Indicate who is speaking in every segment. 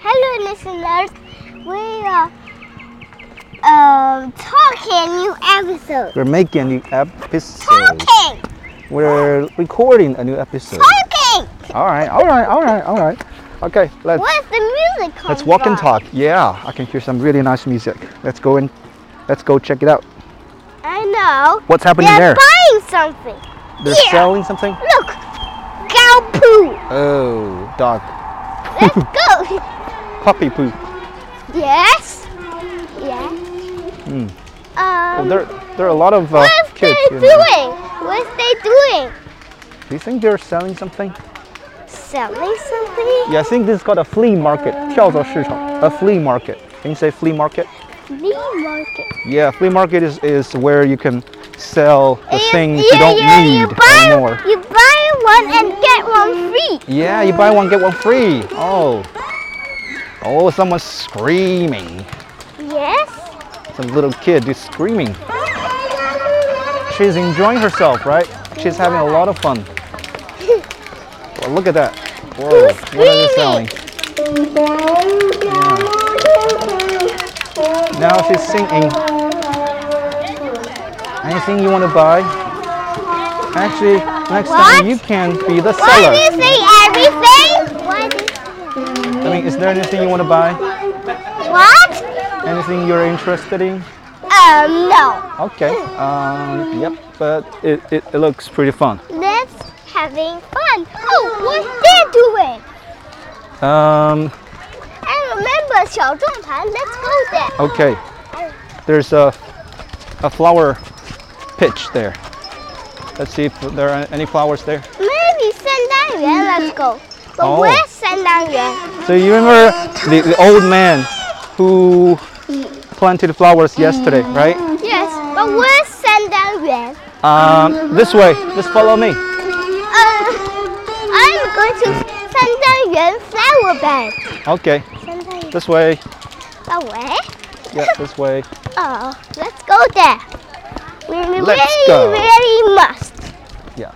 Speaker 1: Hello, listeners. We are talking new episode.
Speaker 2: We're making a new episode.
Speaker 1: Talking.
Speaker 2: We're recording a new episode.
Speaker 1: Talking.
Speaker 2: All right. Okay,
Speaker 1: Where's the music coming
Speaker 2: let's walk and
Speaker 1: from?
Speaker 2: talk. Yeah, I can hear some really nice music. Let's go check it out.
Speaker 1: I know.
Speaker 2: What's happening
Speaker 1: They're
Speaker 2: there?
Speaker 1: buying something.
Speaker 2: They're
Speaker 1: Here.
Speaker 2: selling something?
Speaker 1: Look. Cow poo.
Speaker 2: Oh, dog.
Speaker 1: Let's go.
Speaker 2: Puppy poo.
Speaker 1: Yes. Yeah.
Speaker 2: Well, there are a lot of
Speaker 1: What's
Speaker 2: kids
Speaker 1: they
Speaker 2: here now.
Speaker 1: doing? What's they doing?
Speaker 2: Do you think they're selling something?
Speaker 1: Selling something?
Speaker 2: Yeah, I think this is called a flea market. 跳蚤市场. A flea market. Can you say flea market?
Speaker 1: Flea market.
Speaker 2: Yeah, flea market is where you can sell the things you
Speaker 1: Yeah,
Speaker 2: don't need
Speaker 1: you buy,
Speaker 2: anymore.
Speaker 1: You buy one and get one free.
Speaker 2: Yeah, you buy one get one free. Oh, someone's screaming.
Speaker 1: Yes.
Speaker 2: Some little kid is screaming. She's enjoying herself, right? She's having a lot of fun. Well, look at that. Whoa,
Speaker 1: Who's
Speaker 2: what are they
Speaker 1: screaming?
Speaker 2: selling? Now she's singing. Anything you want to buy? Actually, next time you can be the
Speaker 1: Why
Speaker 2: seller.
Speaker 1: do you say everything? Why do
Speaker 2: I mean, is there anything you want to buy?
Speaker 1: What?
Speaker 2: Anything you're interested in?
Speaker 1: No.
Speaker 2: Okay. Yep. But it looks pretty fun.
Speaker 1: Let's having fun. Oh, what's they doing? I remember 小众盘. Let's go there.
Speaker 2: Okay. There's a flower pitch there. Let's see if there are any flowers there.
Speaker 1: Maybe 圣诞园. Let's go. But
Speaker 2: Oh.
Speaker 1: where's 圣诞园?
Speaker 2: So you remember the old man who planted flowers yesterday, right?
Speaker 1: Yes. But where's 圣诞园?
Speaker 2: This way. Just follow me.
Speaker 1: I'm going to 圣诞园 flower bed.
Speaker 2: Okay.
Speaker 1: 圣诞园
Speaker 2: This way.
Speaker 1: away.
Speaker 2: Yeah, this way.
Speaker 1: Oh, let's go there. We
Speaker 2: Let's go.
Speaker 1: really must.
Speaker 2: Yeah.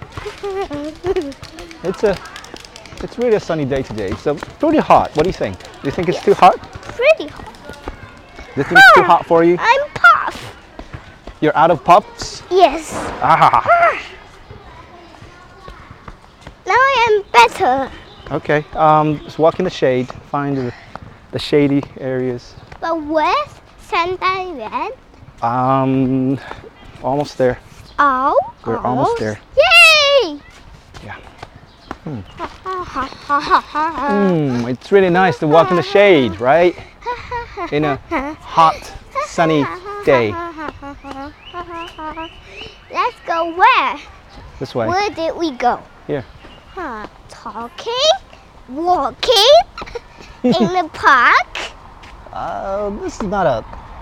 Speaker 2: It's really a sunny day today. So pretty hot. What do you think? Do you think it's too hot?
Speaker 1: Pretty hot.
Speaker 2: Do you think it's too hot for you?
Speaker 1: I'm puff.
Speaker 2: You're out of puffs?
Speaker 1: Yes.
Speaker 2: Ah.
Speaker 1: Now I am better.
Speaker 2: Okay. Just walk in the shade. Find the shady areas.
Speaker 1: But where's 圣诞园?
Speaker 2: Almost there.
Speaker 1: Oh.
Speaker 2: We're almost there.
Speaker 1: Yay!
Speaker 2: Yeah.
Speaker 1: Hmm.
Speaker 2: It's really nice to walk in the shade, right? In a hot, sunny day.
Speaker 1: Let's go where?
Speaker 2: This way.
Speaker 1: Where did we go?
Speaker 2: Here.
Speaker 1: Talking, walking in the park.
Speaker 2: This is not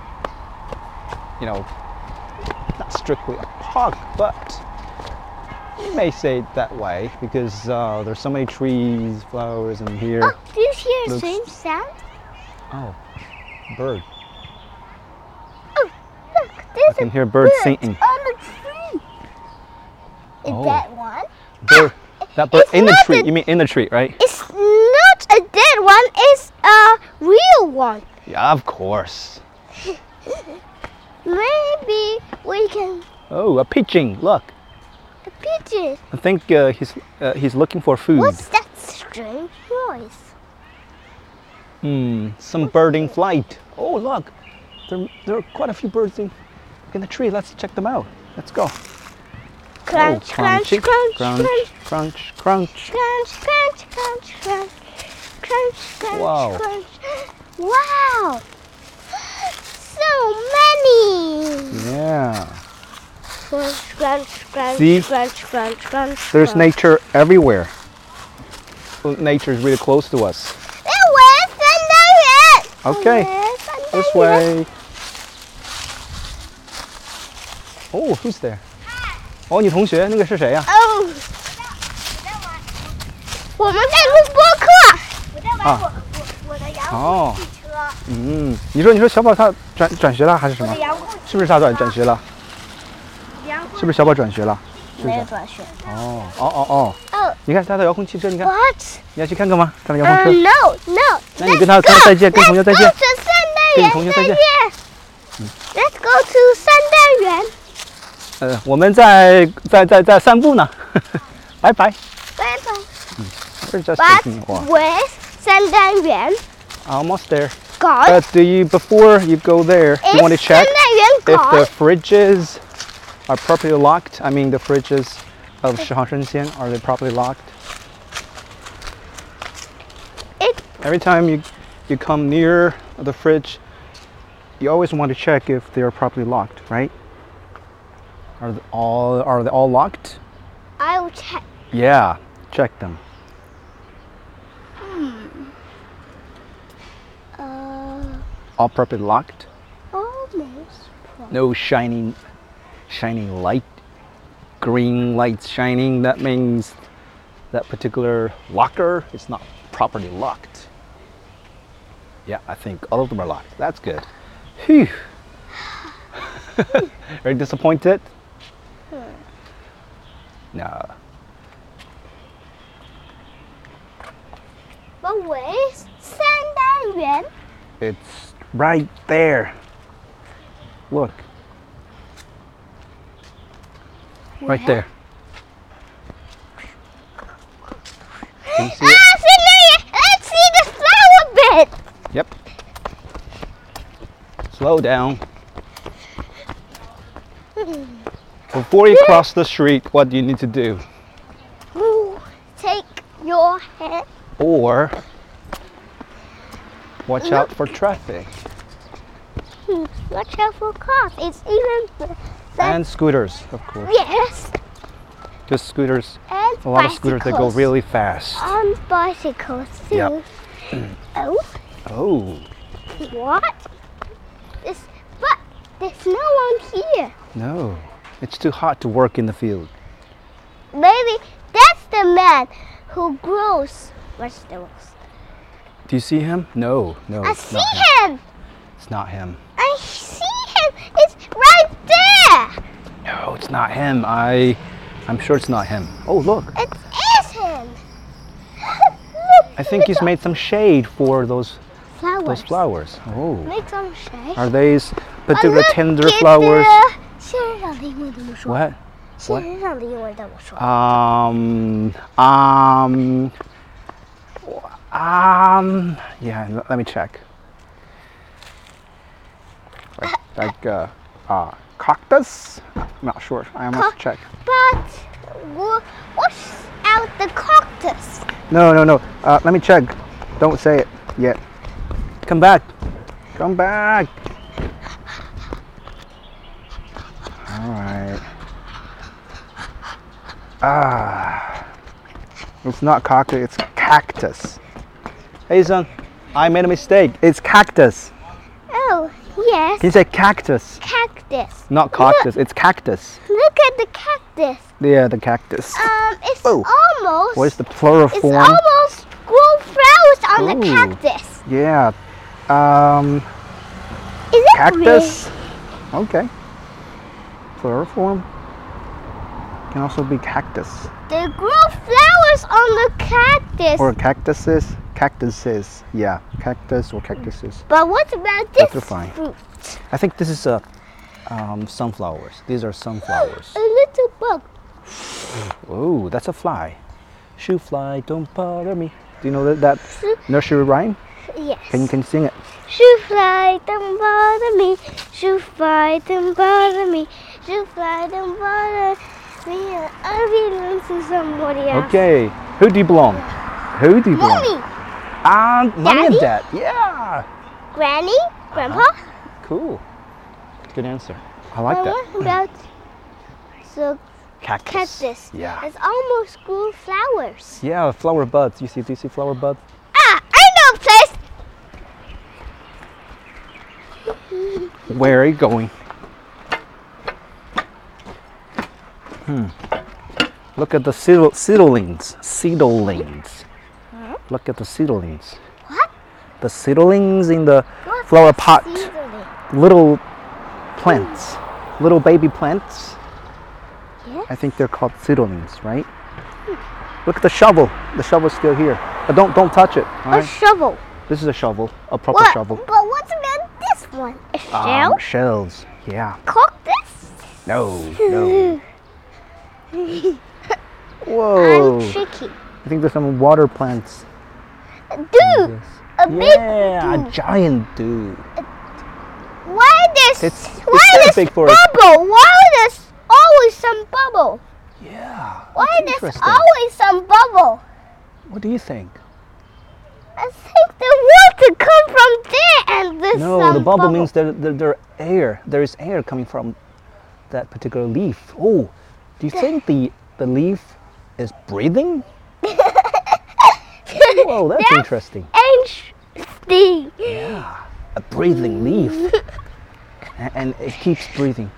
Speaker 2: not strictly a park, but you may say it that way because there's so many trees, flowers in here.
Speaker 1: Oh, do you hear the
Speaker 2: Looks-
Speaker 1: same sound?
Speaker 2: Oh, bird.
Speaker 1: Oh, look,
Speaker 2: I
Speaker 1: there's
Speaker 2: can
Speaker 1: a
Speaker 2: hear birds
Speaker 1: bird
Speaker 2: singing.
Speaker 1: on the tree. Is
Speaker 2: Oh.
Speaker 1: that one?
Speaker 2: That bird
Speaker 1: It's
Speaker 2: in the
Speaker 1: not
Speaker 2: tree.
Speaker 1: a-
Speaker 2: You mean in the tree, right?
Speaker 1: It's not a dead one. It's a real one.
Speaker 2: Yeah, of course.
Speaker 1: Maybe we can
Speaker 2: Oh, a pigeon. Look.
Speaker 1: a pigeon.
Speaker 2: I think he's looking for food.
Speaker 1: What's that strange noise?
Speaker 2: Some bird in flight. Oh, look. There are quite a few birds in the tree. Let's check them out. Let's go.
Speaker 1: Crunch, crunch,
Speaker 2: crunchy.
Speaker 1: crunch,
Speaker 2: crunch,
Speaker 1: crunch,
Speaker 2: crunch, crunch.
Speaker 1: crunch, crunch, crunch, crunch, crunch, crunch,
Speaker 2: Wow.
Speaker 1: crunch. Wow! So many!
Speaker 2: Yeah.
Speaker 1: Crunch, crunch, crunch,
Speaker 2: See?
Speaker 1: crunch, crunch, crunch.
Speaker 2: There's
Speaker 1: crunch.
Speaker 2: nature everywhere. Well, nature is really close to us.
Speaker 1: Where's 圣诞园?
Speaker 2: Okay.
Speaker 1: Where's 圣诞园?
Speaker 2: This way. Oh, who's there? 哦，你同学，那个是谁呀？
Speaker 1: 哦，我们在录播课。我在玩我的遥控汽车。
Speaker 2: 你说小宝他转学了还是什么？
Speaker 1: 遥控
Speaker 2: 是不是他转学了？是不是小宝转学了？
Speaker 1: 没法选。
Speaker 2: 哦，
Speaker 1: 哦
Speaker 2: 你看它的遥控汽车，你看，
Speaker 1: ，What？
Speaker 2: 你要去看看吗？它的遥控车。
Speaker 1: No。
Speaker 2: 那你跟他再见，跟同学再见。
Speaker 1: Let's go to
Speaker 2: 跟你同学再见。
Speaker 1: Let's go to 三单元。
Speaker 2: 我们在散步呢。拜拜。
Speaker 1: 拜拜。
Speaker 2: We're just
Speaker 1: But
Speaker 2: taking a walk.
Speaker 1: where's 三单元
Speaker 2: Almost there.
Speaker 1: gone?
Speaker 2: But before you go there, you want to
Speaker 1: Is
Speaker 2: check
Speaker 1: 三单元
Speaker 2: if the
Speaker 1: gone?
Speaker 2: fridges are properly locked. I mean, the fridges of 十行生鲜, are they properly locked? Every time you come near the fridge, you always want to check if they are properly locked, right? Are they all locked?
Speaker 1: I'll check.
Speaker 2: Yeah, check them. All properly locked?
Speaker 1: Almost.
Speaker 2: No shining light, green lights shining. That means that particular locker is not properly locked. Yeah, I think all of them are locked. That's good. Phew. Very disappointed? No.
Speaker 1: But where's 三单元?
Speaker 2: It's right there. Look. Right there. Can you see it?
Speaker 1: 三单元 Let's see the flower bed.
Speaker 2: Yep. Slow down. Before you cross the street, what do you need to do?
Speaker 1: Take your hand.
Speaker 2: Or watch out for traffic.
Speaker 1: Watch out for cars. It's even
Speaker 2: And scooters, of course.
Speaker 1: yes.
Speaker 2: Just scooters.
Speaker 1: And
Speaker 2: A lot of scooters that go
Speaker 1: bicycles.
Speaker 2: really fast.
Speaker 1: On bicycles too.
Speaker 2: Yep.
Speaker 1: Oh,
Speaker 2: Oh,
Speaker 1: what? But there's no one here.
Speaker 2: no. It's too hot to work in the field.
Speaker 1: Maybe that's the man who grows vegetables.
Speaker 2: Do you see him? No,
Speaker 1: I
Speaker 2: it's
Speaker 1: see
Speaker 2: not him.
Speaker 1: him.
Speaker 2: It's not him.
Speaker 1: I see him. It's right there.
Speaker 2: No, it's not him. I'm sure it's not him. Oh, look.
Speaker 1: It is him. Look,
Speaker 2: I think he's made some shade for those
Speaker 1: flowers.
Speaker 2: flowers. Oh.
Speaker 1: Make some shade.
Speaker 2: Are these particular
Speaker 1: Look
Speaker 2: tender
Speaker 1: at
Speaker 2: flowers?
Speaker 1: the- 仙人掌的英文怎么说？
Speaker 2: What?
Speaker 1: 仙人掌的英文怎么说？
Speaker 2: Yeah, let me check. Like cactus? I'm not sure. I must check.
Speaker 1: But what's out the cactus?
Speaker 2: No. Let me check. Don't say it yet. Come back. Come back. All right. It's not cactus, it's cactus. Hey son, I made a mistake. It's cactus.
Speaker 1: Oh, yes.
Speaker 2: Can you say cactus?
Speaker 1: Cactus.
Speaker 2: Not cactus, it's cactus.
Speaker 1: Look at the cactus.
Speaker 2: Yeah, the cactus.
Speaker 1: It's
Speaker 2: Oh.
Speaker 1: almost.
Speaker 2: What is the plural
Speaker 1: It's
Speaker 2: form?
Speaker 1: almost grow flowers on the
Speaker 2: Ooh.
Speaker 1: cactus.
Speaker 2: Yeah.
Speaker 1: Is it
Speaker 2: Cactus. Okay. Plural form. Can also be cactus.
Speaker 1: They grow flowers on the cactus.
Speaker 2: Or cactuses. Cactuses. Yeah, cactus or cactuses.
Speaker 1: But what about
Speaker 2: Both
Speaker 1: this
Speaker 2: are fine.
Speaker 1: fruit?
Speaker 2: I think this is sunflowers. These are sunflowers.
Speaker 1: A little bug.
Speaker 2: Oh, that's a fly. Shoo fly, don't bother me. Do you know that nursery rhyme?
Speaker 1: Yes.
Speaker 2: Can you sing it?
Speaker 1: Shoo fly, don't bother me. Shoo fly, don't bother me. Shoo fly, don't bother me. I belong to somebody else.
Speaker 2: Okay. Who do you belong? Who do you belong?
Speaker 1: Mommy,
Speaker 2: Mommy and
Speaker 1: Daddy?
Speaker 2: Dad. Yeah.
Speaker 1: Granny, Grandpa.
Speaker 2: Cool. Good answer. I like
Speaker 1: But
Speaker 2: that.
Speaker 1: what about the
Speaker 2: Cactus.
Speaker 1: cactus?
Speaker 2: Yeah.
Speaker 1: It's almost grew flowers.
Speaker 2: Yeah, flower buds. Do you see flower buds?
Speaker 1: Ah, I know a place.
Speaker 2: Where are you going? Look at the seedlings. Seedlings. Look at the seedlings.
Speaker 1: What?
Speaker 2: The seedlings in the
Speaker 1: What's
Speaker 2: flower
Speaker 1: a
Speaker 2: pot.
Speaker 1: seedling?
Speaker 2: Little plants. Little baby plants.
Speaker 1: Yeah.
Speaker 2: I think they're called seedlings, right? Look at the shovel. The shovel's still here. But don't touch it. All
Speaker 1: A
Speaker 2: right?
Speaker 1: shovel.
Speaker 2: This is a shovel, a proper
Speaker 1: What?
Speaker 2: shovel.
Speaker 1: But what about this one? A shell?
Speaker 2: Shells. Yeah.
Speaker 1: Cactus?
Speaker 2: No. Whoa.
Speaker 1: I'm tricky.
Speaker 2: I think there's some water plants.
Speaker 1: Dude, a big
Speaker 2: Yeah,
Speaker 1: dude.
Speaker 2: a giant dude.
Speaker 1: Why there's
Speaker 2: It's
Speaker 1: why
Speaker 2: kinda
Speaker 1: there's
Speaker 2: big for
Speaker 1: bubble? Why there's always some bubble?
Speaker 2: Yeah.
Speaker 1: Why
Speaker 2: that's
Speaker 1: there's
Speaker 2: interesting.
Speaker 1: always some bubble?
Speaker 2: What do you think?
Speaker 1: I think the water come from there and there's
Speaker 2: No,
Speaker 1: some
Speaker 2: the bubble means there air. There is air coming from that particular leaf. Oh, do you think the leaf is breathing? Whoa, that's interesting.
Speaker 1: interesting.
Speaker 2: Yeah, a breathing leaf, and it keeps breathing.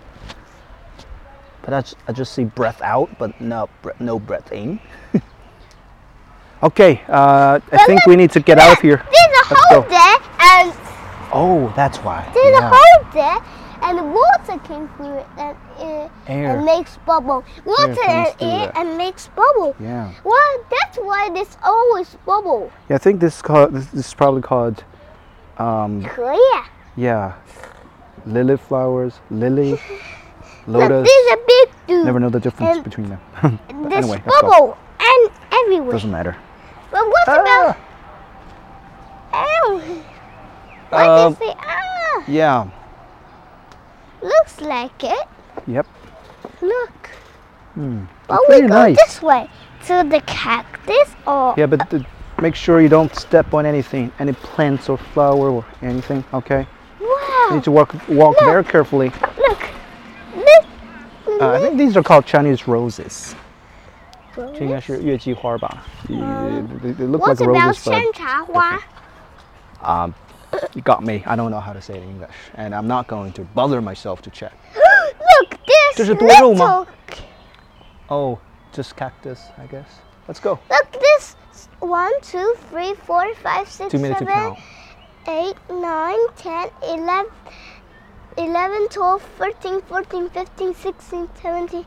Speaker 2: But I just see breath out, but no breath in. Okay, I think we need to get out of here.
Speaker 1: There's a
Speaker 2: Let's
Speaker 1: hole
Speaker 2: go.
Speaker 1: there and
Speaker 2: Oh, that's why.
Speaker 1: there's a
Speaker 2: Yeah.
Speaker 1: hole there and the water came through it and
Speaker 2: Air.
Speaker 1: and makes bubble. Water
Speaker 2: comes
Speaker 1: and
Speaker 2: through
Speaker 1: air
Speaker 2: that.
Speaker 1: and makes bubble.
Speaker 2: Yeah.
Speaker 1: Well, that's why there's always bubble.
Speaker 2: Yeah, I think this is probably called
Speaker 1: Clear.
Speaker 2: yeah, lily flowers, lily,
Speaker 1: Look,
Speaker 2: lotus.
Speaker 1: there's a big dude.
Speaker 2: Never know the difference
Speaker 1: And
Speaker 2: between them. But
Speaker 1: There's
Speaker 2: anyway, let's go.
Speaker 1: bubble and everywhere.
Speaker 2: Doesn't matter.
Speaker 1: But what about? Ow! Why
Speaker 2: Um,
Speaker 1: did you say ah?
Speaker 2: Yeah.
Speaker 1: Looks like it.
Speaker 2: Yep.
Speaker 1: Look.
Speaker 2: Hmm.
Speaker 1: But
Speaker 2: Pretty
Speaker 1: we go
Speaker 2: nice.
Speaker 1: this way to the cactus or
Speaker 2: Yeah, but make sure you don't step on anything, any plants or flower or anything. Okay. You
Speaker 1: wow.
Speaker 2: need to walk very carefully.
Speaker 1: Look. Look.
Speaker 2: I think these are called Chinese roses.
Speaker 1: Look.
Speaker 2: 这应该是月季花吧? They look
Speaker 1: What
Speaker 2: like
Speaker 1: about
Speaker 2: roses, but
Speaker 1: 山茶花?
Speaker 2: you got me. I don't know how to say it in English, and I'm not going to bother myself to check.
Speaker 1: Look, this
Speaker 2: 这是多肉吗？
Speaker 1: little.
Speaker 2: Oh, just cactus, I guess. Let's go.
Speaker 1: Look, this 1, 2, 3, 4, 5, 6,
Speaker 2: 2 minutes to
Speaker 1: 7,
Speaker 2: count.
Speaker 1: 8, 9, 10, 11, 12, 13, 14, 15, 16, 17,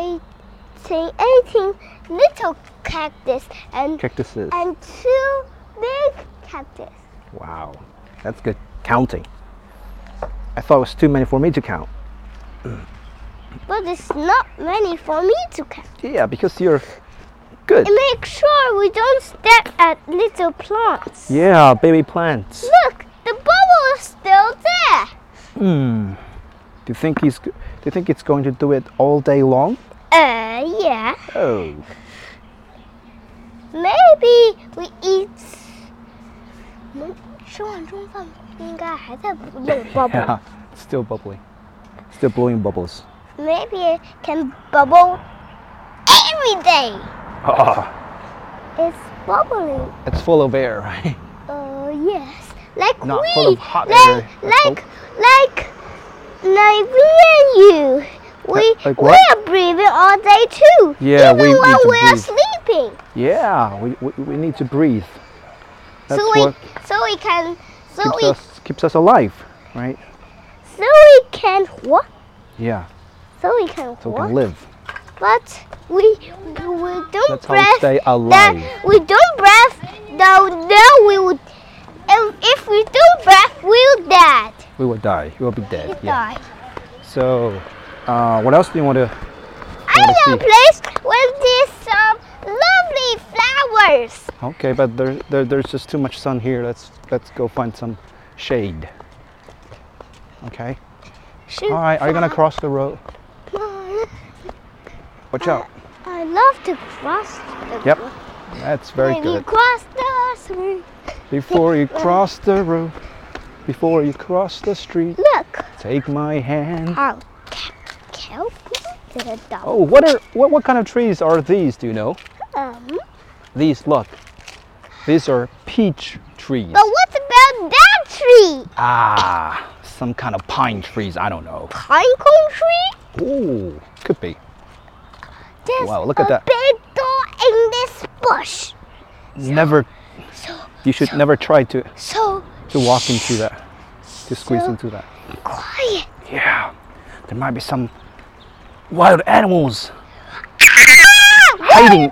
Speaker 1: 18 little cactus and
Speaker 2: Cactuses.
Speaker 1: 2 big cactus.
Speaker 2: Wow, that's good counting. I thought it was too many for me to count.
Speaker 1: But it's not many for me to count.
Speaker 2: Yeah, because you're good.
Speaker 1: And make sure we don't step at little plants.
Speaker 2: Yeah, baby plants.
Speaker 1: Look, the bubble is still there.
Speaker 2: Hmm. Do you think it's going to do it all day long?
Speaker 1: Yeah.
Speaker 2: Oh.
Speaker 1: Maybe we eat. 我们吃完中饭应该还在有 bubble.
Speaker 2: Yeah, still bubbling. Still blowing bubbles.
Speaker 1: Maybe it can bubble every day.
Speaker 2: Oh,
Speaker 1: It's bubbling.
Speaker 2: it's full of air, right?
Speaker 1: Yes. Like
Speaker 2: Not
Speaker 1: we.
Speaker 2: full of hot
Speaker 1: like,
Speaker 2: air, I
Speaker 1: like me and you.
Speaker 2: Like
Speaker 1: We
Speaker 2: what?
Speaker 1: are breathing all day too.
Speaker 2: Yeah,
Speaker 1: even
Speaker 2: we need
Speaker 1: when
Speaker 2: to
Speaker 1: we are
Speaker 2: breathe.
Speaker 1: sleeping.
Speaker 2: Yeah, we need to breathe. That's
Speaker 1: So
Speaker 2: what keeps us alive, right?
Speaker 1: So we can what?
Speaker 2: Yeah,
Speaker 1: So we can
Speaker 2: so we
Speaker 1: what?
Speaker 2: can live.
Speaker 1: But we don't
Speaker 2: That's how we
Speaker 1: breath.
Speaker 2: stay
Speaker 1: That
Speaker 2: alive.
Speaker 1: we don't breath. No, we would. If we don't breath, we'll die.
Speaker 2: We will die. We will be dead.
Speaker 1: We
Speaker 2: Yeah.
Speaker 1: die.
Speaker 2: So, what else do you want to?
Speaker 1: I know a place where there's some lovely flowers.
Speaker 2: Okay, but there's just too much sun here. Let's go find some shade. Okay.
Speaker 1: Shoot,
Speaker 2: All right. Are you gonna cross the road? Watch out.
Speaker 1: I love to cross. The
Speaker 2: Yep.
Speaker 1: road.
Speaker 2: That's very
Speaker 1: When you
Speaker 2: good.
Speaker 1: cross the street.
Speaker 2: Before you cross the road, before you cross the street,
Speaker 1: Look.
Speaker 2: take my hand.
Speaker 1: How? Kelp? Is it a
Speaker 2: Oh, what kind of trees are these? Do you know? These, look. These are peach trees.
Speaker 1: But what about that tree?
Speaker 2: Ah, some kind of pine trees. I don't know.
Speaker 1: Pine cone tree?
Speaker 2: Ooh, could be.
Speaker 1: There's
Speaker 2: Wow, look at that.
Speaker 1: a big door in this bush.
Speaker 2: Never.
Speaker 1: So,
Speaker 2: You should never try to
Speaker 1: so
Speaker 2: walk into that, to squeeze
Speaker 1: So-
Speaker 2: into that.
Speaker 1: quiet.
Speaker 2: Yeah, there might be some wild animals hiding in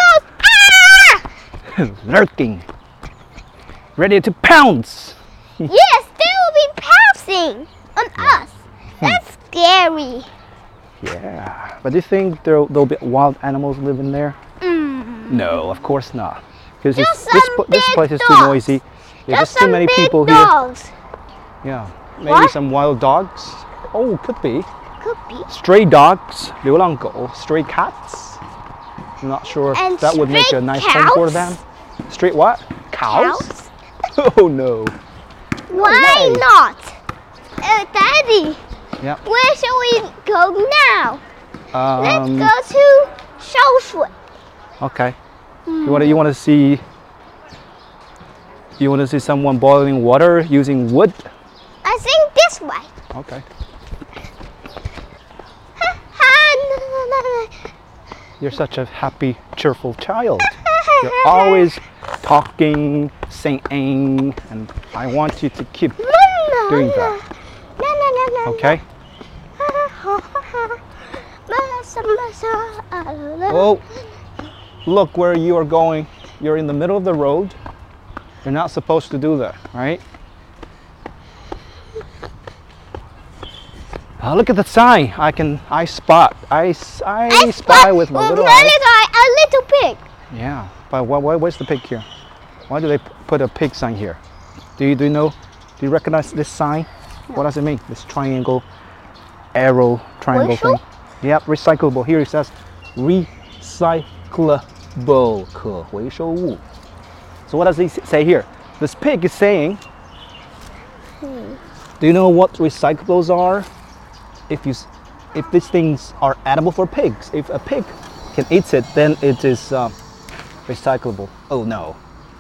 Speaker 2: the lurking, ready to pounce.
Speaker 1: Yes, they will be pouncing on us. That's scary.
Speaker 2: Yeah, but do you think there'll be wild animals living there? No, of course not. Because
Speaker 1: Just
Speaker 2: this
Speaker 1: some
Speaker 2: place
Speaker 1: big
Speaker 2: is too
Speaker 1: dogs.
Speaker 2: noisy. Yeah,
Speaker 1: Just
Speaker 2: there's too
Speaker 1: some
Speaker 2: many
Speaker 1: big
Speaker 2: people
Speaker 1: dogs.
Speaker 2: here. Yeah, maybe
Speaker 1: What?
Speaker 2: some wild dogs. Oh, could be.
Speaker 1: Could be.
Speaker 2: Stray dogs, 流浪狗, stray cats. I'm not sure
Speaker 1: And
Speaker 2: if that would make a
Speaker 1: stray
Speaker 2: nice home for
Speaker 1: cows?
Speaker 2: them. Stray what? Cows?
Speaker 1: Cows?
Speaker 2: Oh no.
Speaker 1: Why
Speaker 2: way.
Speaker 1: not? Daddy,
Speaker 2: Yeah.
Speaker 1: where shall we go now? Let's go to 烧水.
Speaker 2: Okay. You want to see someone boiling water using wood?
Speaker 1: I think this way.
Speaker 2: Okay. You're such a happy, cheerful child. You're always talking, singing, and I want you to keep doing that. Okay? Oh, look where you are going. You're in the middle of the road. You're not supposed to do that, right? Oh, look at the sign. I spy with my little eye.
Speaker 1: A little pig.
Speaker 2: Yeah, but where's the pig here? Why do they put a pig sign here? Do you know? Do you recognize this sign?
Speaker 1: No.
Speaker 2: What does it mean? This triangle, arrow, triangle thing.
Speaker 1: 回收?
Speaker 2: Yep, recyclable. Here it says recyclable, 可回收物. So what does he say here? This pig is saying, do you know what recyclables are? If these things are edible for pigs, if a pig can eat it, then it is recyclable. Oh no.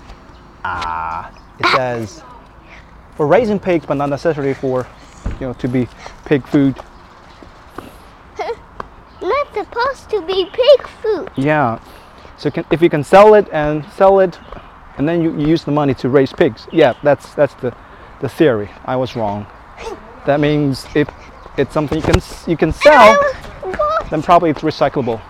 Speaker 2: It says for raising pigs, but not necessarily for, to be pig food.
Speaker 1: Not supposed to be pig food.
Speaker 2: Yeah. So if you can sell it, and then you use the money to raise pigs. Yeah, that's the theory. I was wrong. That means if it's something you can sell, then probably it's recyclable.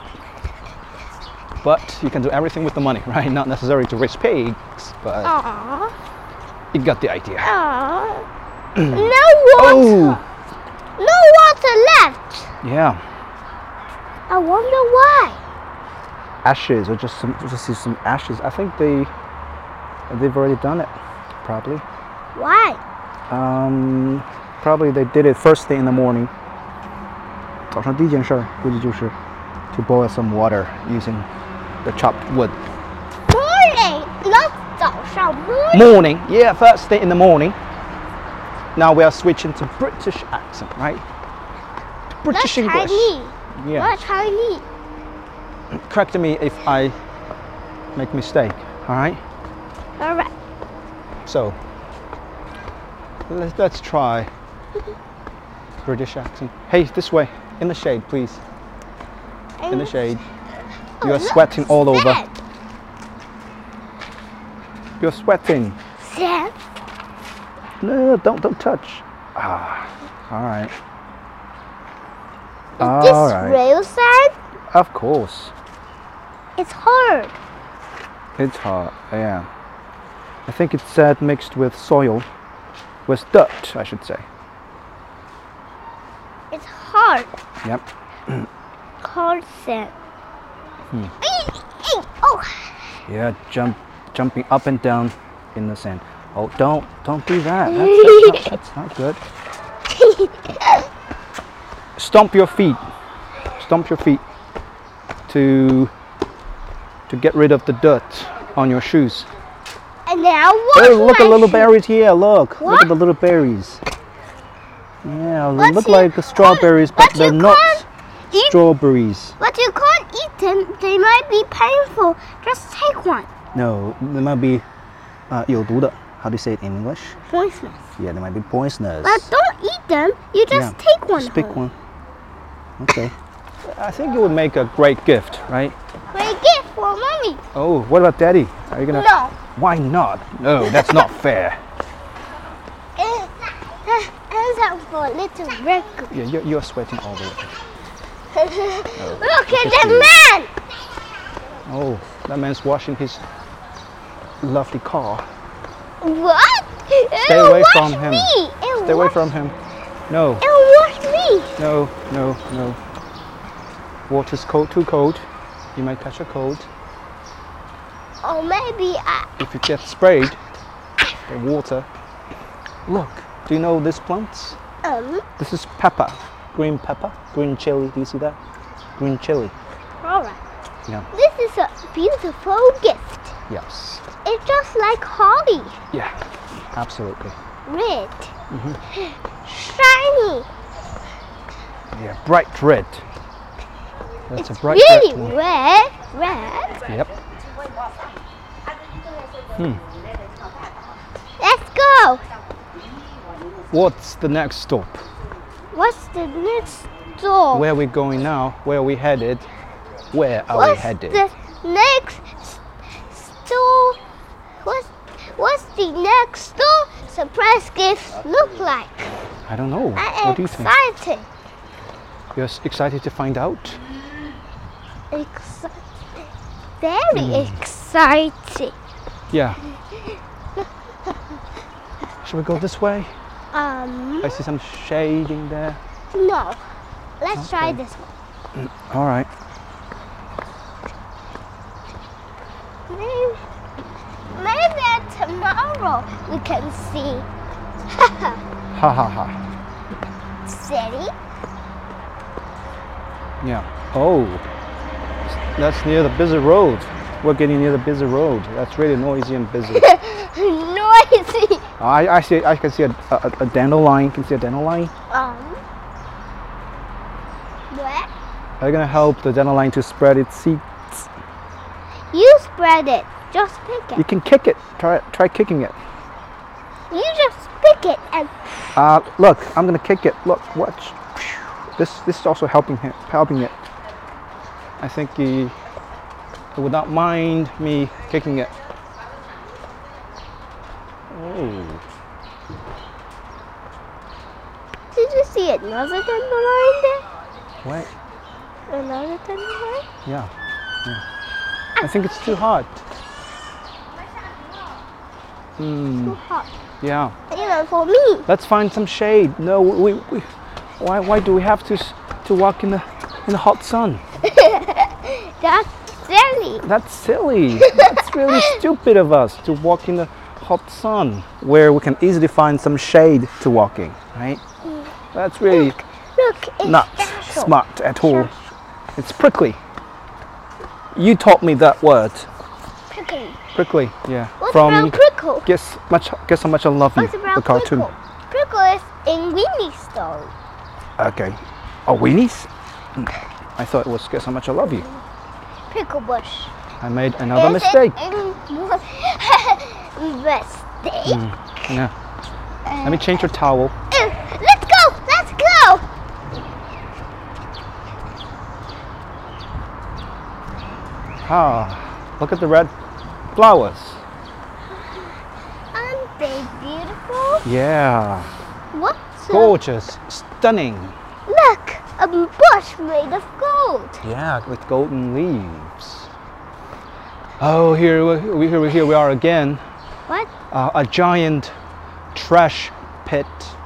Speaker 2: But you can do everything with the money, right? Not necessary to raise pigs, but
Speaker 1: Aww.
Speaker 2: you got the idea.
Speaker 1: Aww. No water.
Speaker 2: Oh,
Speaker 1: No water left.
Speaker 2: yeah.
Speaker 1: I wonder why.
Speaker 2: Ashes, or just see some ashes. I think they've already done it, probably.
Speaker 1: Why?
Speaker 2: Probably they did it first thing in the morning. 早上第一件事估计就是 to boil some water using the chopped wood.
Speaker 1: Morning. Not 早上 morning.
Speaker 2: Morning, yeah, first thing in the morning. Now we are switching to British accent, right? British
Speaker 1: Not
Speaker 2: English.
Speaker 1: Chinese.
Speaker 2: Yeah.
Speaker 1: Not Chinese.
Speaker 2: Correct me if I make mistake, all right?
Speaker 1: All right.
Speaker 2: So let's try British accent. Hey, this way, in the shade, please. In the shade. You are sweating all over. You're sweating.
Speaker 1: Sam.
Speaker 2: No, don't touch. All right.
Speaker 1: Is this real sand?
Speaker 2: Of course.
Speaker 1: It's hard.
Speaker 2: It's hard, yeah. I think it's sand mixed with soil, with dirt, I should say.
Speaker 1: It's hard.
Speaker 2: Yep.
Speaker 1: Hard sand. Oh.
Speaker 2: Yeah, jumping up and down in the sand. Oh, don't do that. That's not good. Stomp your feet. Stomp your feet to get rid of the dirt on your shoes.
Speaker 1: And now what?
Speaker 2: Oh, look at little berries here. Look
Speaker 1: What?
Speaker 2: at the little berries. Yeah, they
Speaker 1: But
Speaker 2: look
Speaker 1: you
Speaker 2: like strawberries, but
Speaker 1: but
Speaker 2: they're
Speaker 1: you
Speaker 2: not
Speaker 1: can't eat-
Speaker 2: strawberries.
Speaker 1: But you can't eat them. They might be painful. Just take one.
Speaker 2: No, they might be 有毒的. How do you say it in English?
Speaker 1: Poisonous.
Speaker 2: Yeah, they might be poisonous.
Speaker 1: But don't eat them. You just
Speaker 2: Yeah,
Speaker 1: take one.
Speaker 2: Just pick
Speaker 1: home.
Speaker 2: one. Okay. I think it would make a great gift, right?
Speaker 1: Great gift for mommy.
Speaker 2: Oh, what about Daddy? Are you gonna?
Speaker 1: No.
Speaker 2: Why not? No, that's not fair.
Speaker 1: And that for little record.
Speaker 2: Yeah, you're sweating all the way.
Speaker 1: Look at the man!
Speaker 2: Oh, that man's washing his lovely car.
Speaker 1: What?
Speaker 2: Stay
Speaker 1: It'll
Speaker 2: away
Speaker 1: wash
Speaker 2: from him.
Speaker 1: Me. It'll
Speaker 2: Stay away
Speaker 1: wash-
Speaker 2: from him. No,
Speaker 1: It'll wash me.
Speaker 2: no, no, no. Water's cold, too cold. You might catch a cold.
Speaker 1: Or maybe
Speaker 2: If you get sprayed by water. Look, do you know this plant? This is pepper, green chili. Do you see that? Green chili.
Speaker 1: Alright.
Speaker 2: Yeah.
Speaker 1: This is a beautiful gift.
Speaker 2: Yes.
Speaker 1: It's just like holly.
Speaker 2: Yeah. Absolutely.
Speaker 1: Red. Shiny.
Speaker 2: Yeah. Bright red. That's a
Speaker 1: It's
Speaker 2: bright
Speaker 1: really
Speaker 2: red one.
Speaker 1: red.
Speaker 2: Yep.
Speaker 1: Let's go.
Speaker 2: What's the next stop?
Speaker 1: What's the next door?
Speaker 2: Where are we going now? Where are we headed? Where are we
Speaker 1: What's
Speaker 2: headed?
Speaker 1: the next store? What's the next store surprise gift look like?
Speaker 2: I don't know.
Speaker 1: I'm
Speaker 2: What do you think?
Speaker 1: excited.
Speaker 2: You're excited to find out?
Speaker 1: Very excited.
Speaker 2: Yeah. Shall we go this way?
Speaker 1: No.
Speaker 2: I see some shading there.
Speaker 1: Let's try
Speaker 2: Okay.
Speaker 1: this one.
Speaker 2: All right.
Speaker 1: Maybe tomorrow we can see.
Speaker 2: Ha ha ha.
Speaker 1: City.
Speaker 2: Yeah. Oh, that's near the busy road. We're getting near the busy road. That's really noisy and busy.
Speaker 1: Noisy.
Speaker 2: I see. I can see a dandelion. Can you see a dandelion?
Speaker 1: Where?
Speaker 2: Are you gonna help the dandelion to spread its seeds?
Speaker 1: You spread it. Just pick
Speaker 2: You
Speaker 1: it.
Speaker 2: can kick it. Try kicking it.
Speaker 1: You just pick it and
Speaker 2: Look, I'm gonna kick it. Look, watch. This is also helping it. I think he would not mind me kicking it. Oh,
Speaker 1: did you see another dandelion there?
Speaker 2: wait.
Speaker 1: Another dandelion?
Speaker 2: Yeah. I think it's too hot.
Speaker 1: Too hot.
Speaker 2: Yeah.
Speaker 1: Even for me.
Speaker 2: Let's find some shade. No, why do we have to walk in the hot sun?
Speaker 1: That's silly.
Speaker 2: That's silly. That's really stupid of us to walk in the hot sun where we can easily find some shade to walk in, right? That's really
Speaker 1: Look, it's
Speaker 2: not
Speaker 1: special.
Speaker 2: smart at all. It's prickly. You taught me that word.
Speaker 1: Prickly.
Speaker 2: Prickly, yeah.
Speaker 1: What's about prickle?
Speaker 2: Guess How Much I Love You,
Speaker 1: What's about
Speaker 2: the cartoon.
Speaker 1: prickle? Prickle is in Winnie's story.
Speaker 2: Okay. Oh, weenies? I thought it was Guess How Much I Love You.
Speaker 1: Prickle bush.
Speaker 2: I made another
Speaker 1: Is
Speaker 2: mistake.
Speaker 1: Mistake?
Speaker 2: Yeah. Let me change your towel.
Speaker 1: Let's go! Let's go!
Speaker 2: Look at the red flowers.
Speaker 1: Aren't they beautiful?
Speaker 2: Yeah.
Speaker 1: What's
Speaker 2: Gorgeous. Stunning.
Speaker 1: Look! A bush made of gold.
Speaker 2: Yeah, with golden leaves. Oh, here we are again.
Speaker 1: What?
Speaker 2: A giant trash pit.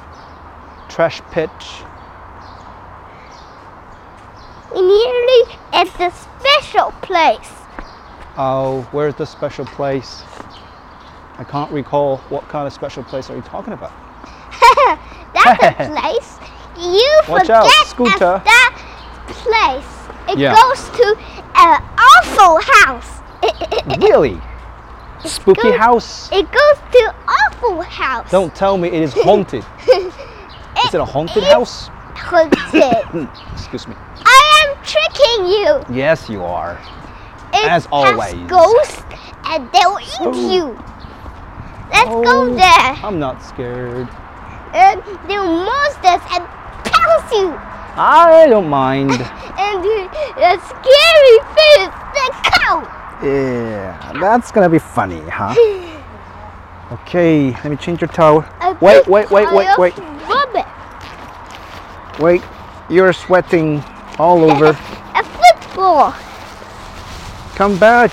Speaker 1: We're nearly at the special place.
Speaker 2: Oh, where's the special place? I can't recall. What kind of special place are you talking about?
Speaker 1: That's a place. You
Speaker 2: Watch
Speaker 1: forget
Speaker 2: out, Scooter.
Speaker 1: that place. It
Speaker 2: Yeah.
Speaker 1: goes to an awful house.
Speaker 2: Really? Spooky
Speaker 1: goes-
Speaker 2: house?
Speaker 1: It goes to awful house.
Speaker 2: Don't tell me it is haunted. Is it a haunted house?
Speaker 1: Haunted.
Speaker 2: Excuse me.
Speaker 1: I am tricking you.
Speaker 2: Yes, you are.
Speaker 1: It
Speaker 2: As
Speaker 1: has
Speaker 2: always.
Speaker 1: ghosts and they'll eat
Speaker 2: Oh.
Speaker 1: you. Let's go
Speaker 2: Oh,
Speaker 1: there.
Speaker 2: I'm not scared.
Speaker 1: And they're monsters and pounce you.
Speaker 2: I don't mind.
Speaker 1: And the scary face, the cow.
Speaker 2: Yeah, that's gonna be funny, huh? Okay, let me change your towel.
Speaker 1: A
Speaker 2: Wait,
Speaker 1: big
Speaker 2: wait, wait, wait,
Speaker 1: pile of
Speaker 2: wait.
Speaker 1: rubbish.
Speaker 2: Wait, you're sweating all over.
Speaker 1: A football.
Speaker 2: Come back.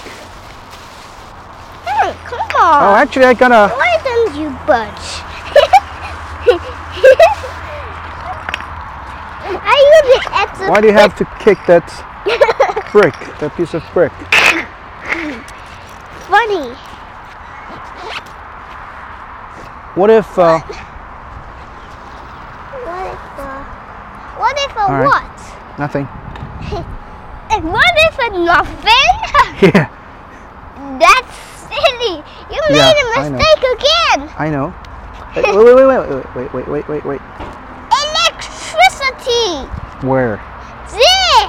Speaker 1: Come on.
Speaker 2: Oh, actually, I gotta.
Speaker 1: Why don't you budge? Are you the extra?
Speaker 2: Why do you have to kick that brick? That piece of brick.
Speaker 1: Funny.
Speaker 2: What if?
Speaker 1: What if a
Speaker 2: All right.
Speaker 1: what?
Speaker 2: Nothing.
Speaker 1: And what if a nothing?
Speaker 2: Yeah.
Speaker 1: That's silly. You
Speaker 2: Yeah,
Speaker 1: made a
Speaker 2: I know.
Speaker 1: mistake again.
Speaker 2: I know. Wait.
Speaker 1: Electricity.
Speaker 2: Where?
Speaker 1: There.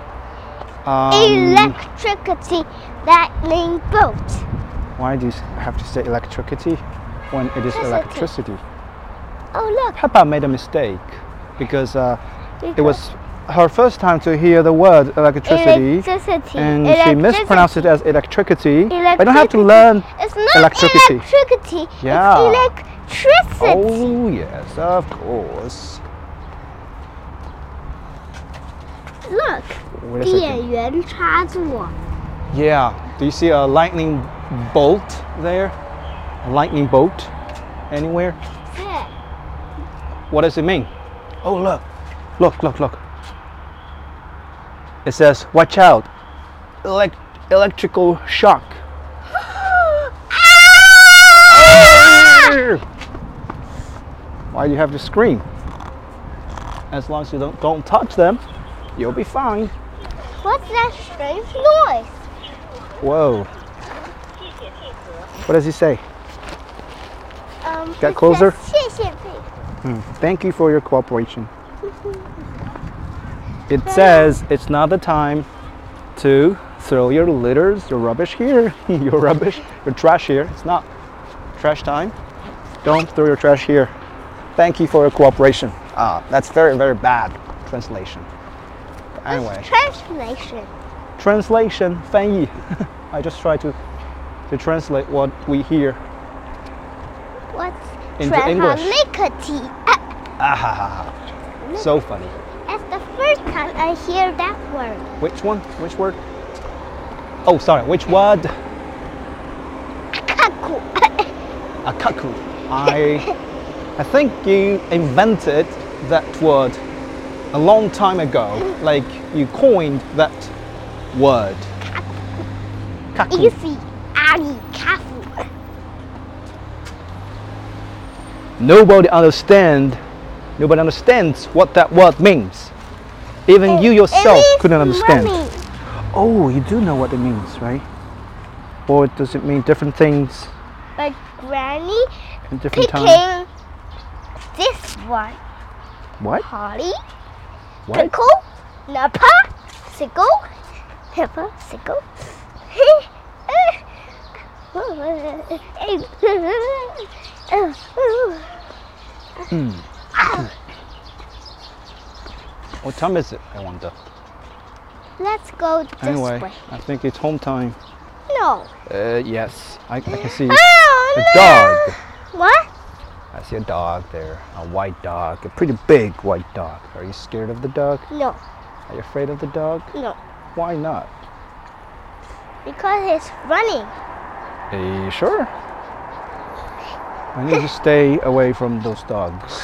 Speaker 1: Electricity. That means boat.
Speaker 2: Why do you have to say electricity when it is electricity?
Speaker 1: Oh look.
Speaker 2: Peppa made a mistake because it was her first time to hear the word electricity,
Speaker 1: Electricity.
Speaker 2: and she mispronounced it as electricity. I don't have to
Speaker 1: Electricity.
Speaker 2: learn
Speaker 1: It's not
Speaker 2: electricity.
Speaker 1: electricity.
Speaker 2: Yeah.
Speaker 1: It's electricity.
Speaker 2: Oh yes, of course.
Speaker 1: Look.
Speaker 2: Wait a second.
Speaker 1: 电源插座.
Speaker 2: Yeah. Do you see a lightning bolt there? A lightning bolt anywhere?
Speaker 1: There.
Speaker 2: What does it mean? Oh look. Look. It says, watch out. Electrical shock. Why do you have to scream? As long as you don't touch them, you'll be fine.
Speaker 1: What's that strange noise?
Speaker 2: Whoa. What does he say? Get
Speaker 1: it
Speaker 2: closer.
Speaker 1: says 谢谢你.
Speaker 2: Thank you for your cooperation. It says it's not the time to throw your litters, your rubbish here, your trash here. It's not trash time. Don't throw your trash here. Thank you for your cooperation. That's very, very bad translation. Anyway,
Speaker 1: Translation.
Speaker 2: translation, 翻译. I just try to translate what we hear
Speaker 1: What's
Speaker 2: into English.
Speaker 1: translation?
Speaker 2: So funny.
Speaker 1: That's the first time I hear that word.
Speaker 2: Which one? Which word? Oh, sorry. Which word?
Speaker 1: Kaku.
Speaker 2: Akaku. I think you invented that word a long time ago. Like you coined that word. Kaku.
Speaker 1: Easy. Ali kafu.
Speaker 2: Nobody understands what that word means. Even you yourself
Speaker 1: It
Speaker 2: couldn't
Speaker 1: means
Speaker 2: understand.
Speaker 1: mommy.
Speaker 2: Oh, you do know what it means, right? Or does it mean different things
Speaker 1: But Granny
Speaker 2: in different
Speaker 1: picking
Speaker 2: times?
Speaker 1: this one.
Speaker 2: What?
Speaker 1: Holly,
Speaker 2: What?
Speaker 1: pickle, Napa, sickle, pepper, sickle.
Speaker 2: What time is it, I wonder?
Speaker 1: Let's go this
Speaker 2: Anyway,
Speaker 1: way.
Speaker 2: I think it's home time.
Speaker 1: No.
Speaker 2: Yes, I can see
Speaker 1: Oh,
Speaker 2: a
Speaker 1: no.
Speaker 2: dog.
Speaker 1: What?
Speaker 2: I see a dog there, a white dog, a pretty big white dog. Are you scared of the dog?
Speaker 1: No.
Speaker 2: Are you afraid of the dog?
Speaker 1: No.
Speaker 2: Why not?
Speaker 1: Because it's running.
Speaker 2: Are you sure? I need to stay away from those dogs.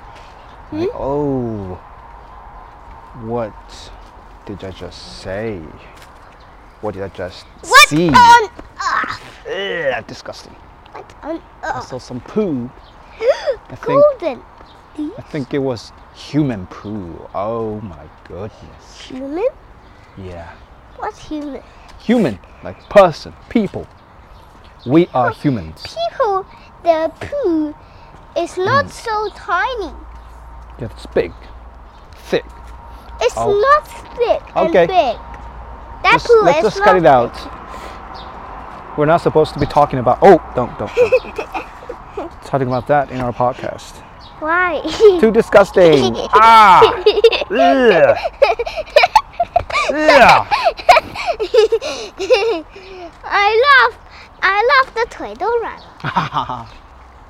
Speaker 2: Oh, what did I just say? What did I just
Speaker 1: What
Speaker 2: see?
Speaker 1: on earth?
Speaker 2: Ugh, disgusting.
Speaker 1: What on
Speaker 2: I
Speaker 1: earth?
Speaker 2: saw some poo.
Speaker 1: Golden.
Speaker 2: I think it was human poo. Oh my goodness.
Speaker 1: Human?
Speaker 2: Yeah.
Speaker 1: What's human?
Speaker 2: Human, like person, people. We are humans.
Speaker 1: People, the poo is not so tiny.
Speaker 2: Yeah, it's big, thick.
Speaker 1: It's
Speaker 2: Oh.
Speaker 1: not thick
Speaker 2: Okay.
Speaker 1: and big. That poo
Speaker 2: Let's
Speaker 1: is
Speaker 2: just
Speaker 1: not
Speaker 2: cut it out.
Speaker 1: thick.
Speaker 2: We're not supposed to be talking about. Oh, don't. Talking about that in our podcast.
Speaker 1: Why?
Speaker 2: Too disgusting. Ah. Ugh. Ugh.
Speaker 1: I love the 腿都软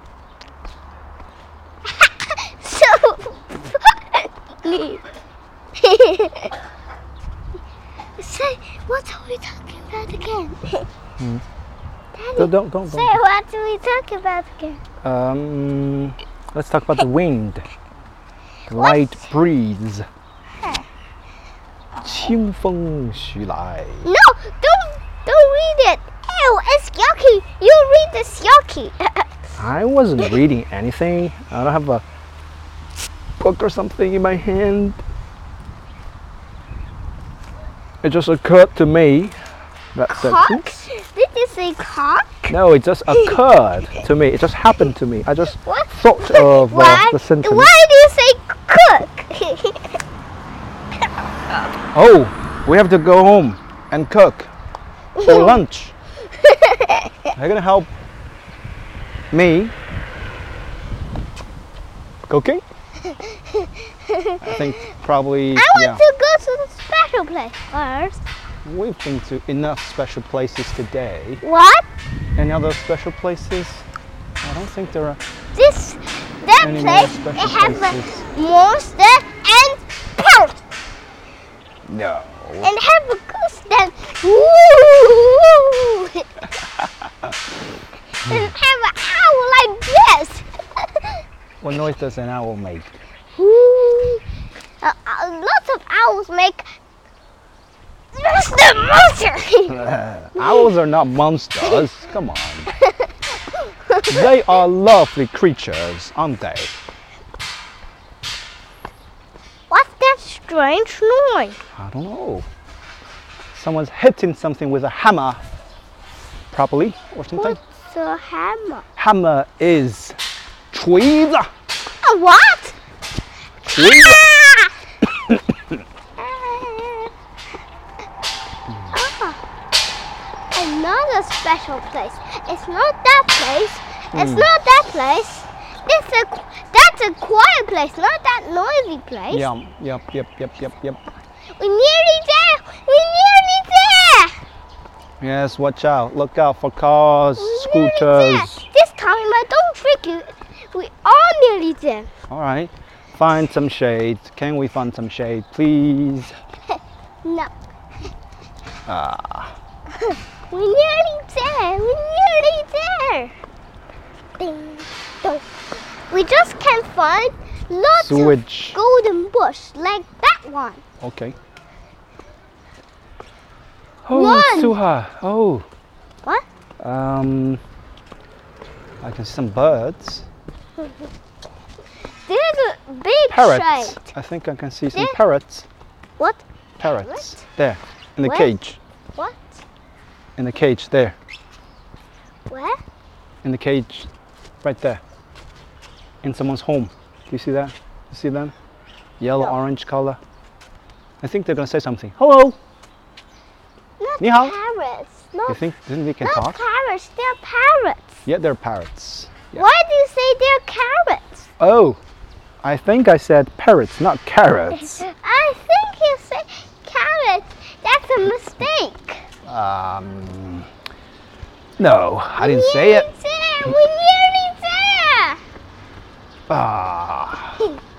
Speaker 1: 了。So funny. Say, what are we talking about again? Daddy,
Speaker 2: Don't.
Speaker 1: say, what are we talking about again?
Speaker 2: Let's talk about the wind. Light breeze. 清风徐来.
Speaker 1: No, don't read it. Ew, it's yucky. You read this yucky.
Speaker 2: I wasn't reading anything. I don't have a book or something in my hand. It just occurred to me that
Speaker 1: Cock? Did you say cock?
Speaker 2: no, it just occurred to me. It just happened to me. I just
Speaker 1: What?
Speaker 2: thought of
Speaker 1: Why?
Speaker 2: the sentence.
Speaker 1: Why do you say cook?
Speaker 2: Oh, we have to go home and cook for lunch. Are you gonna help me cooking? I think probably.
Speaker 1: I want to go to the special place first.
Speaker 2: We've been to enough special places today.
Speaker 1: What?
Speaker 2: Any other special places? I don't think there are
Speaker 1: That
Speaker 2: any
Speaker 1: place,
Speaker 2: more
Speaker 1: it
Speaker 2: special
Speaker 1: has
Speaker 2: places.
Speaker 1: a monster and parrot.
Speaker 2: No.
Speaker 1: And have a goose that woo. And have an owl like this.
Speaker 2: What noise does an owl make?
Speaker 1: Woo. Lots of owls make monster.
Speaker 2: Owls are not monsters. Come on. They are lovely creatures, aren't they?
Speaker 1: What's that strange noise?
Speaker 2: I don't know. Someone's hitting something with a hammer, probably, or something.
Speaker 1: What's a hammer?
Speaker 2: Hammer is 锤子.
Speaker 1: A what?
Speaker 2: 锤子.
Speaker 1: Another special place. It's not that place. It's not that place. That's a quiet place, not that noisy place.
Speaker 2: Yep.
Speaker 1: We're nearly there. We're nearly there.
Speaker 2: Yes, watch out. Look out for cars,
Speaker 1: We're nearly there.
Speaker 2: scooters.
Speaker 1: This time I don't trick you. We are nearly there.
Speaker 2: All right. Find some shade. Can we find some shade, please?
Speaker 1: No.
Speaker 2: Ah.
Speaker 1: We're nearly there. We're nearly there. Ding, dong. We just can't find lots
Speaker 2: Switch.
Speaker 1: of golden bush like that one.
Speaker 2: Okay. Oh,
Speaker 1: One.
Speaker 2: it's too hot. Oh.
Speaker 1: What?
Speaker 2: I can see some birds.
Speaker 1: There's a big
Speaker 2: Parrots.
Speaker 1: shade.
Speaker 2: I think I can see some
Speaker 1: There.
Speaker 2: parrots.
Speaker 1: What?
Speaker 2: Parrots. There. In the
Speaker 1: Where?
Speaker 2: cage.
Speaker 1: What?
Speaker 2: In the cage there.
Speaker 1: Where?
Speaker 2: In the cage. Right there. In someone's home. Do you see that? You see them? Yellow,
Speaker 1: No.
Speaker 2: orange color. I think they're gonna say something. Hello.
Speaker 1: Not
Speaker 2: 你好.
Speaker 1: parrots.
Speaker 2: You
Speaker 1: Not,
Speaker 2: think they can
Speaker 1: not
Speaker 2: talk?
Speaker 1: parrots. They're parrots.
Speaker 2: Yeah, they're parrots. Yeah.
Speaker 1: Why do you say they're carrots?
Speaker 2: Oh, I think I said parrots, not carrots.
Speaker 1: I think you say carrots. That's a mistake.
Speaker 2: No, I didn't say it.
Speaker 1: We're nearly there.
Speaker 2: Ah,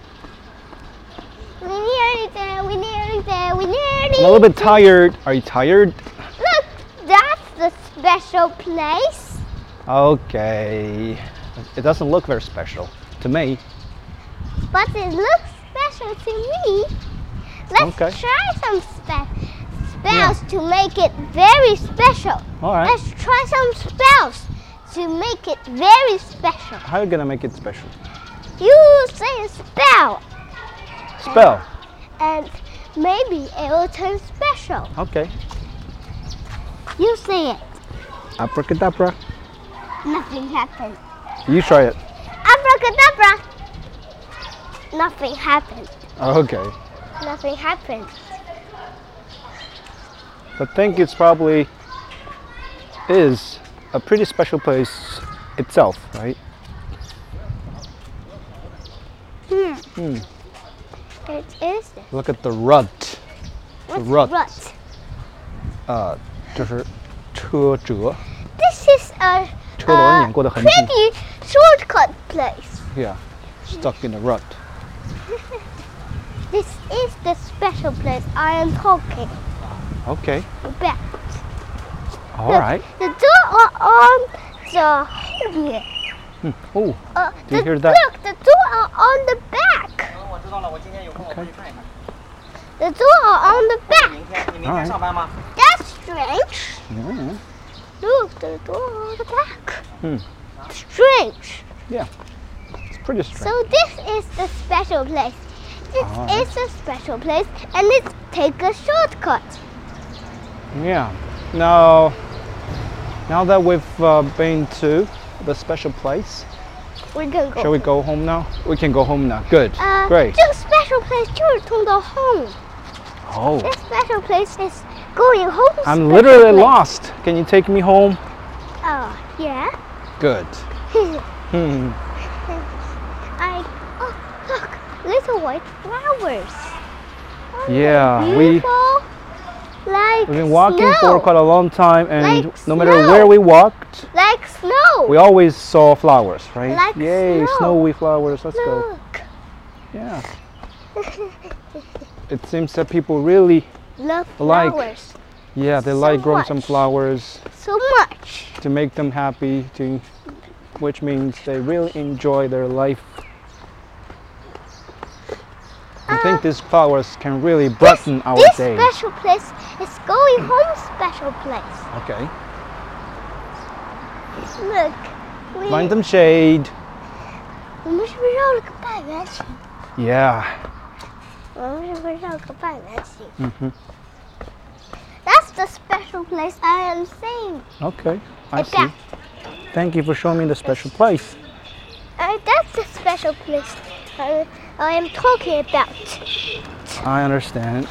Speaker 1: We're nearly there. We're nearly there. We're
Speaker 2: I'm
Speaker 1: nearly.
Speaker 2: a little bit tired. Are you tired?
Speaker 1: Look, that's the special place.
Speaker 2: Okay. It doesn't look very special to me.
Speaker 1: But it looks special to me. Let's
Speaker 2: Okay.
Speaker 1: try some spells to make it very special.
Speaker 2: All right.
Speaker 1: Let's try some spells to make it very special.
Speaker 2: How are you gonna make it special?
Speaker 1: You say a spell,
Speaker 2: Spell.
Speaker 1: and maybe it will turn special.
Speaker 2: Okay.
Speaker 1: You say it.
Speaker 2: Abracadabra.
Speaker 1: Nothing happened.
Speaker 2: You try it.
Speaker 1: Abracadabra. Nothing happened.
Speaker 2: Okay.
Speaker 1: Nothing happened.
Speaker 2: I think it's probably is a pretty special place itself, right?
Speaker 1: It is.
Speaker 2: Look at the rut.
Speaker 1: What's
Speaker 2: rut.
Speaker 1: rut?
Speaker 2: 就是车辙
Speaker 1: This is a
Speaker 2: 车轮碾过的痕迹
Speaker 1: pretty shortcut place.
Speaker 2: Yeah, stuck in the rut.
Speaker 1: This is the special place I am talking
Speaker 2: Okay.
Speaker 1: about.
Speaker 2: All
Speaker 1: Look,
Speaker 2: right.
Speaker 1: The door are on the here.
Speaker 2: Oh, do you
Speaker 1: the,
Speaker 2: hear that?
Speaker 1: Look, the door are on the back.
Speaker 3: 我知道了，我今天有空我过去看一看。
Speaker 1: The door are on the back.
Speaker 3: 你明天上班吗？
Speaker 1: That's strange.
Speaker 2: Mm,
Speaker 1: Look, the door on the back.
Speaker 2: Hmm.
Speaker 1: Strange.
Speaker 2: yeah. It's pretty strange.
Speaker 1: So this is the special place. This
Speaker 2: Alright.
Speaker 1: is a special place, and let's take a shortcut.
Speaker 2: Yeah. Now that we've been to the special place,
Speaker 1: We can go.
Speaker 2: shall we go home now? We can go home now. Good. Great.
Speaker 1: 这个 special place 就是通到 home.
Speaker 2: Oh,
Speaker 1: This special place is going home.
Speaker 2: I'm
Speaker 1: special
Speaker 2: literally
Speaker 1: place.
Speaker 2: lost. Can you take me home?
Speaker 1: Oh, yeah.
Speaker 2: Good. Hmm.
Speaker 1: Oh, look, little white flowers. Aren't they
Speaker 2: Yeah,
Speaker 1: beautiful? Like
Speaker 2: We've been walking
Speaker 1: snow.
Speaker 2: for quite a long time, and
Speaker 1: Like
Speaker 2: no matter
Speaker 1: snow.
Speaker 2: where we walked,
Speaker 1: Like snow.
Speaker 2: we always saw flowers, right?
Speaker 1: Like
Speaker 2: Yay,
Speaker 1: snow.
Speaker 2: snowy flowers. Let's go.
Speaker 1: Look.
Speaker 2: Yeah. It seems that people really,
Speaker 1: Love
Speaker 2: Like-
Speaker 1: flowers
Speaker 2: yeah, they
Speaker 1: So
Speaker 2: like growing some
Speaker 1: much.
Speaker 2: flowers
Speaker 1: so much.
Speaker 2: to make them happy, which means they really enjoy their life. I think these flowers can really brighten our
Speaker 1: This
Speaker 2: days.
Speaker 1: special place is going home special place.
Speaker 2: Okay.
Speaker 1: Look.
Speaker 2: Find some shade.
Speaker 1: 我们是不是绕了个半圆形？
Speaker 2: Yeah.
Speaker 1: 我们是不是绕个半圆形
Speaker 2: Mhm.
Speaker 1: That's the special place I am saying
Speaker 2: Okay. I
Speaker 1: about.
Speaker 2: see. Thank you for showing me the special place.
Speaker 1: That's the special place I am talking about.
Speaker 2: I understand.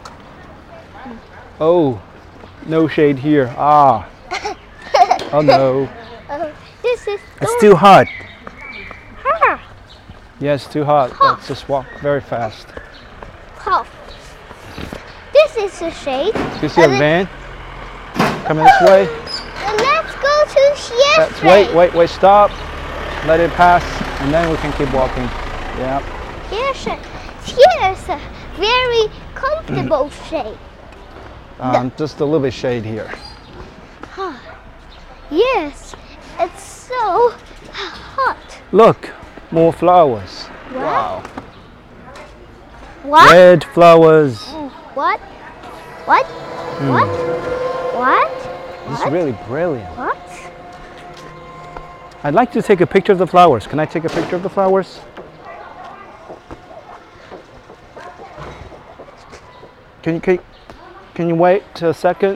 Speaker 2: Oh, no shade here. Ah. Oh no.
Speaker 1: This is
Speaker 2: It's too hot.
Speaker 1: her.
Speaker 2: Yeah, it's too hot. Let's just walk very fast.
Speaker 1: Oh. This is the shade.
Speaker 2: Do you see a
Speaker 1: And
Speaker 2: van coming this way?
Speaker 1: And let's go to here.
Speaker 2: Let's wait, stop. Let it pass, and then we can keep walking. Yeah.
Speaker 1: Here's a very comfortable shade.
Speaker 2: Just a little bit shade here.
Speaker 1: Yes, it's so hot.
Speaker 2: Look, more flowers. Wow.
Speaker 1: What?
Speaker 2: Red flowers.
Speaker 1: What? What? What? What?
Speaker 2: This is really brilliant.
Speaker 1: What?
Speaker 2: I'd like to take a picture of the flowers. Can I take a picture of the flowers? Can you wait a second?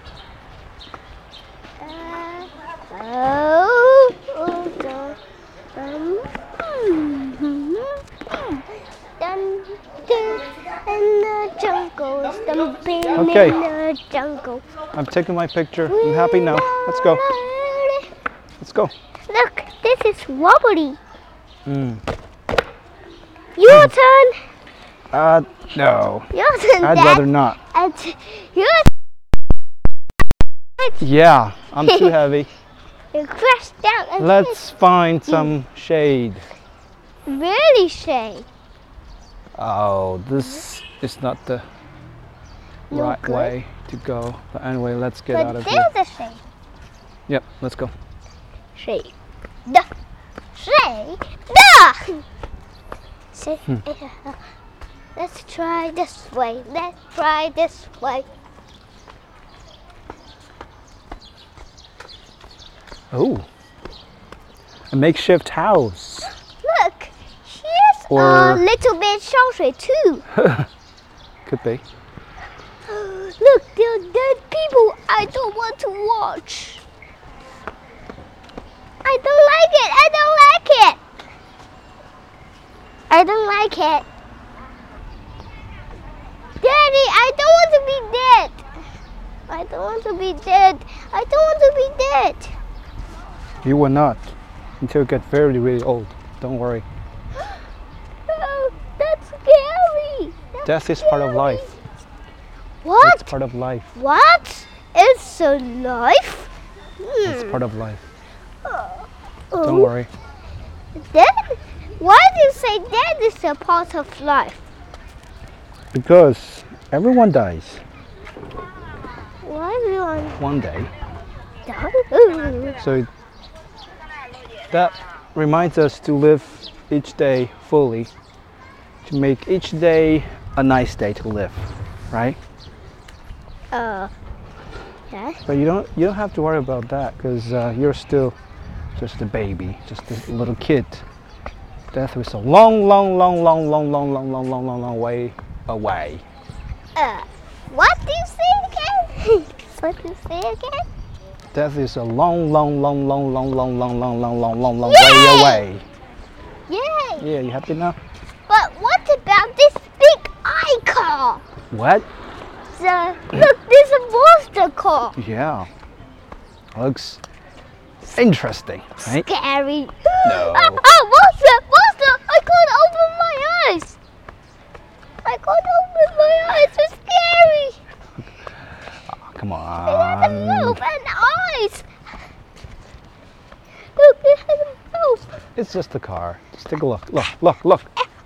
Speaker 1: In the jungle, stumping
Speaker 2: Okay.
Speaker 1: in the jungle.
Speaker 2: I'm taking my picture. I'm happy now. Let's go. Let's go.
Speaker 1: Look, this is wobbly.
Speaker 2: Mm.
Speaker 1: Your turn.
Speaker 2: No.
Speaker 1: Your turn,
Speaker 2: I'd
Speaker 1: Dad.
Speaker 2: rather not.
Speaker 1: And your
Speaker 2: Yeah, I'm too heavy.
Speaker 1: You crash down and
Speaker 2: Let's find some shade.
Speaker 1: really shade.
Speaker 2: Oh, this is not the
Speaker 1: No
Speaker 2: right
Speaker 1: good.
Speaker 2: way to go. But anyway, let's get out
Speaker 1: But
Speaker 2: of here.
Speaker 1: there's a shade.
Speaker 2: Yep, let's go.
Speaker 1: Shade. Duh. Shade. Duh. Say, let's try this way. Let's try this way.
Speaker 2: Oh, a makeshift house.
Speaker 1: Look, here's a
Speaker 2: Or-
Speaker 1: little bit 烧水 too.
Speaker 2: Could be.
Speaker 1: Look, there are dead people I don't want to watch. I don't like it. I don't like it. I don't like it. Daddy, I don't want to be dead. I don't want to be dead. I don't want to be dead.
Speaker 2: You will not until you get very, really old. Don't worry.
Speaker 1: Oh, that's scary. That's
Speaker 2: Death is part of
Speaker 1: scary.
Speaker 2: life.
Speaker 1: What?
Speaker 2: It's part of life.
Speaker 1: What? It's a life?
Speaker 2: It's part of life.
Speaker 1: Oh.
Speaker 2: Don't worry.
Speaker 1: Death? Why do you say death is a part of life?
Speaker 2: Because everyone dies
Speaker 1: Why everyone
Speaker 2: one day.
Speaker 1: die?
Speaker 2: So that reminds us to live each day fully, to make each day a nice day to live, right?
Speaker 1: Yeah.
Speaker 2: But you don't have to worry about that because you're still just a baby, just a little kid. Death is a long way away.
Speaker 1: What do you say again? What do you say again?
Speaker 2: Death is a long way
Speaker 1: Yay!
Speaker 2: away.
Speaker 1: Yay!
Speaker 2: Yeah, you happy now?
Speaker 1: But what about this big icon?
Speaker 2: What?
Speaker 1: Look, there's a monster car.
Speaker 2: Yeah. Looks interesting, right?
Speaker 1: Scary.
Speaker 2: No.
Speaker 1: Monster! I can't open my eyes. I can't open my eyes. It's scary.
Speaker 2: Come
Speaker 1: It has a
Speaker 2: on.
Speaker 1: mouth and eyes. Look, it has a mouth.
Speaker 2: It's just a car. Just take a look. Look.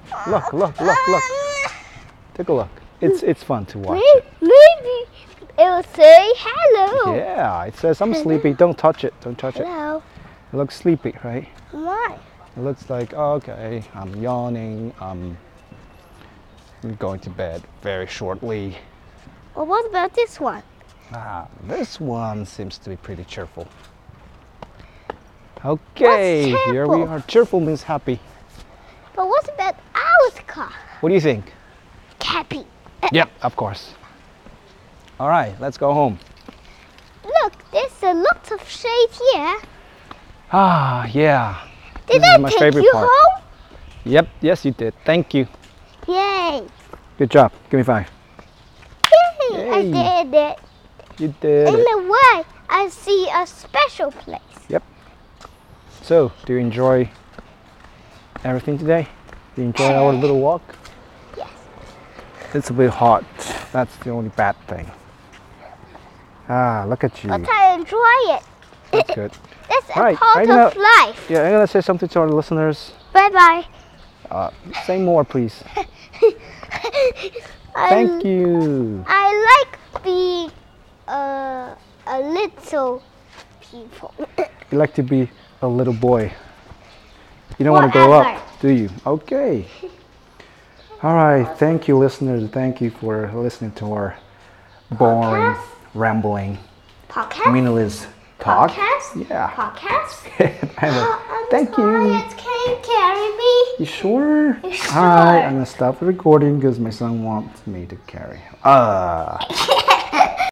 Speaker 2: Take a look. It's fun to watch.
Speaker 1: Maybe it will say hello.
Speaker 2: Yeah, it says I'm sleepy. Don't touch it. Don't touch it.
Speaker 1: Hello.
Speaker 2: It looks sleepy, right?
Speaker 1: Why?
Speaker 2: It looks like, okay, I'm yawning. I'm going to bed very shortly.
Speaker 1: Well, what about this one?
Speaker 2: This one seems to be pretty cheerful. Okay,
Speaker 1: What's
Speaker 2: here we
Speaker 1: cheerful?
Speaker 2: are. Cheerful means happy.
Speaker 1: But what about our car?
Speaker 2: What do you think?
Speaker 1: Happy.
Speaker 2: Yep, of course. All right, let's go home.
Speaker 1: Look, there's a lot of shade here.
Speaker 2: Ah, yeah.
Speaker 1: Did
Speaker 2: This is
Speaker 1: I
Speaker 2: my
Speaker 1: take
Speaker 2: favorite
Speaker 1: you
Speaker 2: part.
Speaker 1: home?
Speaker 2: Yep, yes you did. Thank you.
Speaker 1: Yay.
Speaker 2: Good job. Give me 5.
Speaker 1: Yay. I
Speaker 2: Yay.
Speaker 1: did it.
Speaker 2: You did
Speaker 1: In
Speaker 2: it.
Speaker 1: a way, I see a special place.
Speaker 2: So, do you enjoy everything today? Do you enjoy our little walk?
Speaker 1: Yes.
Speaker 2: It's a bit hot. That's the only bad thing. Ah, look at you.
Speaker 1: But I enjoy it.
Speaker 2: That's good.
Speaker 1: That's a
Speaker 2: Right,
Speaker 1: part
Speaker 2: I'm
Speaker 1: of life.
Speaker 2: Yeah, I'm gonna say something to our listeners.
Speaker 1: Bye-bye.
Speaker 2: Say more, please. Thank you.
Speaker 1: I like being a little people.
Speaker 2: You like to be a little boy. You don't want to grow up,
Speaker 1: Whatever.
Speaker 2: do you? Okay. All right. Thank you, listeners. Thank you for listening to our boring,
Speaker 1: Podcast?
Speaker 2: rambling,
Speaker 1: Podcast?
Speaker 2: meaningless talk.
Speaker 1: Podcast?
Speaker 2: Yeah.
Speaker 1: Podcast?
Speaker 2: Anyway, thank you.
Speaker 1: Quiet, can you carry me?
Speaker 2: You sure?
Speaker 1: You
Speaker 2: All right.
Speaker 1: sure?
Speaker 2: I'm gonna stop the recording because my son wants me to carry him.